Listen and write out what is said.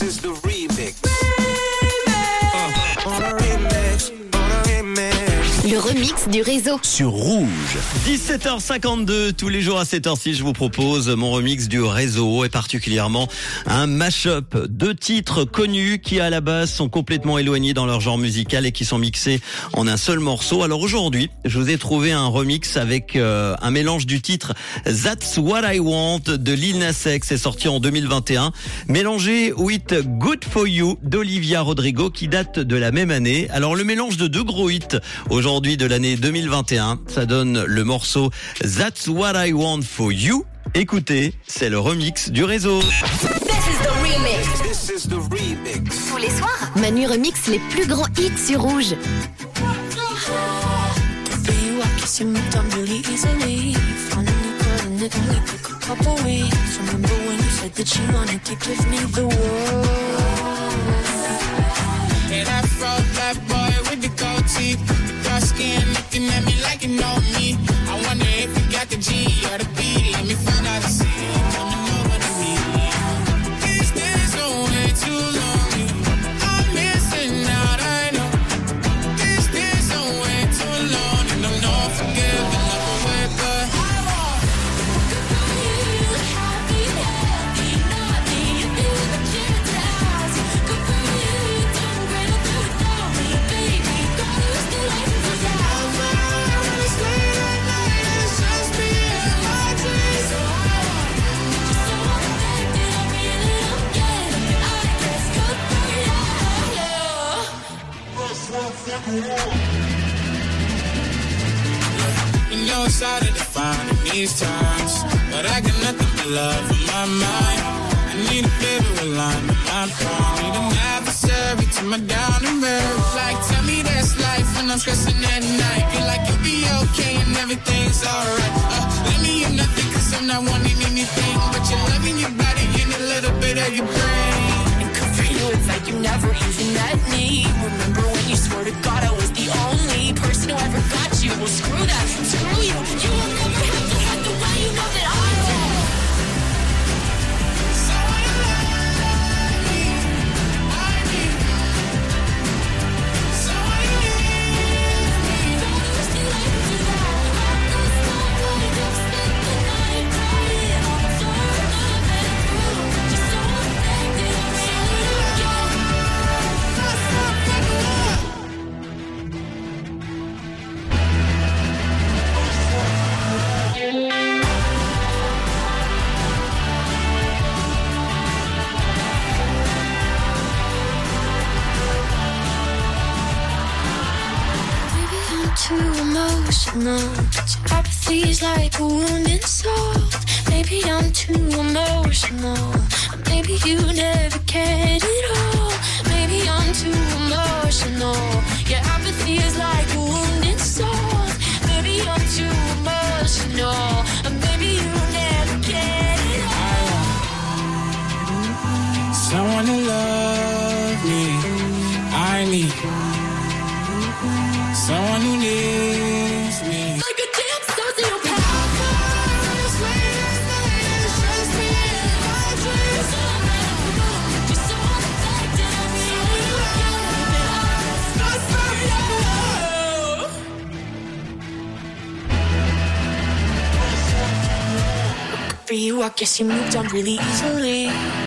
is the remix. Le remix du réseau. Sur Rouge. 17h52, tous les jours à cette heure-ci, je vous propose mon remix du réseau et particulièrement un mash-up. 2 titres connus qui à la base sont complètement éloignés dans leur genre musical et qui sont mixés en un seul morceau. Alors aujourd'hui, je vous ai trouvé un remix avec un mélange du titre That's What I Want de Lil Nas X, c'est sorti en 2021, mélangé with Good For You d'Olivia Rodrigo qui date de la même année. Alors le mélange de 2 gros hits aujourd'hui de l'année 2021, ça donne le morceau That's What I Want For You. Écoutez, c'est le remix du réseau. This is the remix. Tous les soirs, Manu remix les plus grands hits sur Rouge. Skin looking at me like you know me. I wonder if you got the G or the B. Let me find out and see. Coming over to me. These days are way too long. I'm missing out, I know. These days are way too long. And I'm not forgiving up away, but I want good for you, happy, naughty. You feel the hypnotized. Good for you, don't break up without me, baby. Gotta lose the life. You know it's hard to define in these times, but I got nothing but love in my mind. I need a favorite line in my prime. Need an adversary to my down and road. Like, tell me that's life when I'm stressing at night. Feel like you'll be okay and everything's alright. Let me in nothing cause I'm not wanting anything but you're loving your body and a little bit of your brain. And good for you, it's like you never even met me. Remember when you swore to God I was the only person who ever got you? Well, screw that, screw you. You will never have to have the way you know that I will. So I love me, I need. So I need me. Don't lose the light to that. That's not what I just spent the night crying on the floor of the bedroom. Just so affected, I'm really again. That's not love. Maybe I'm too emotional. Your apathy's like a wounded soul. Maybe I'm too emotional. Maybe you never cared at all. Maybe I'm too emotional. Your apathy is like a wounded soul. Maybe I'm too emotional. Maybe you never cared at all. Someone to love me. I need someone who needs me. Like a damn sociopath. For you, I guess you moved on really easily.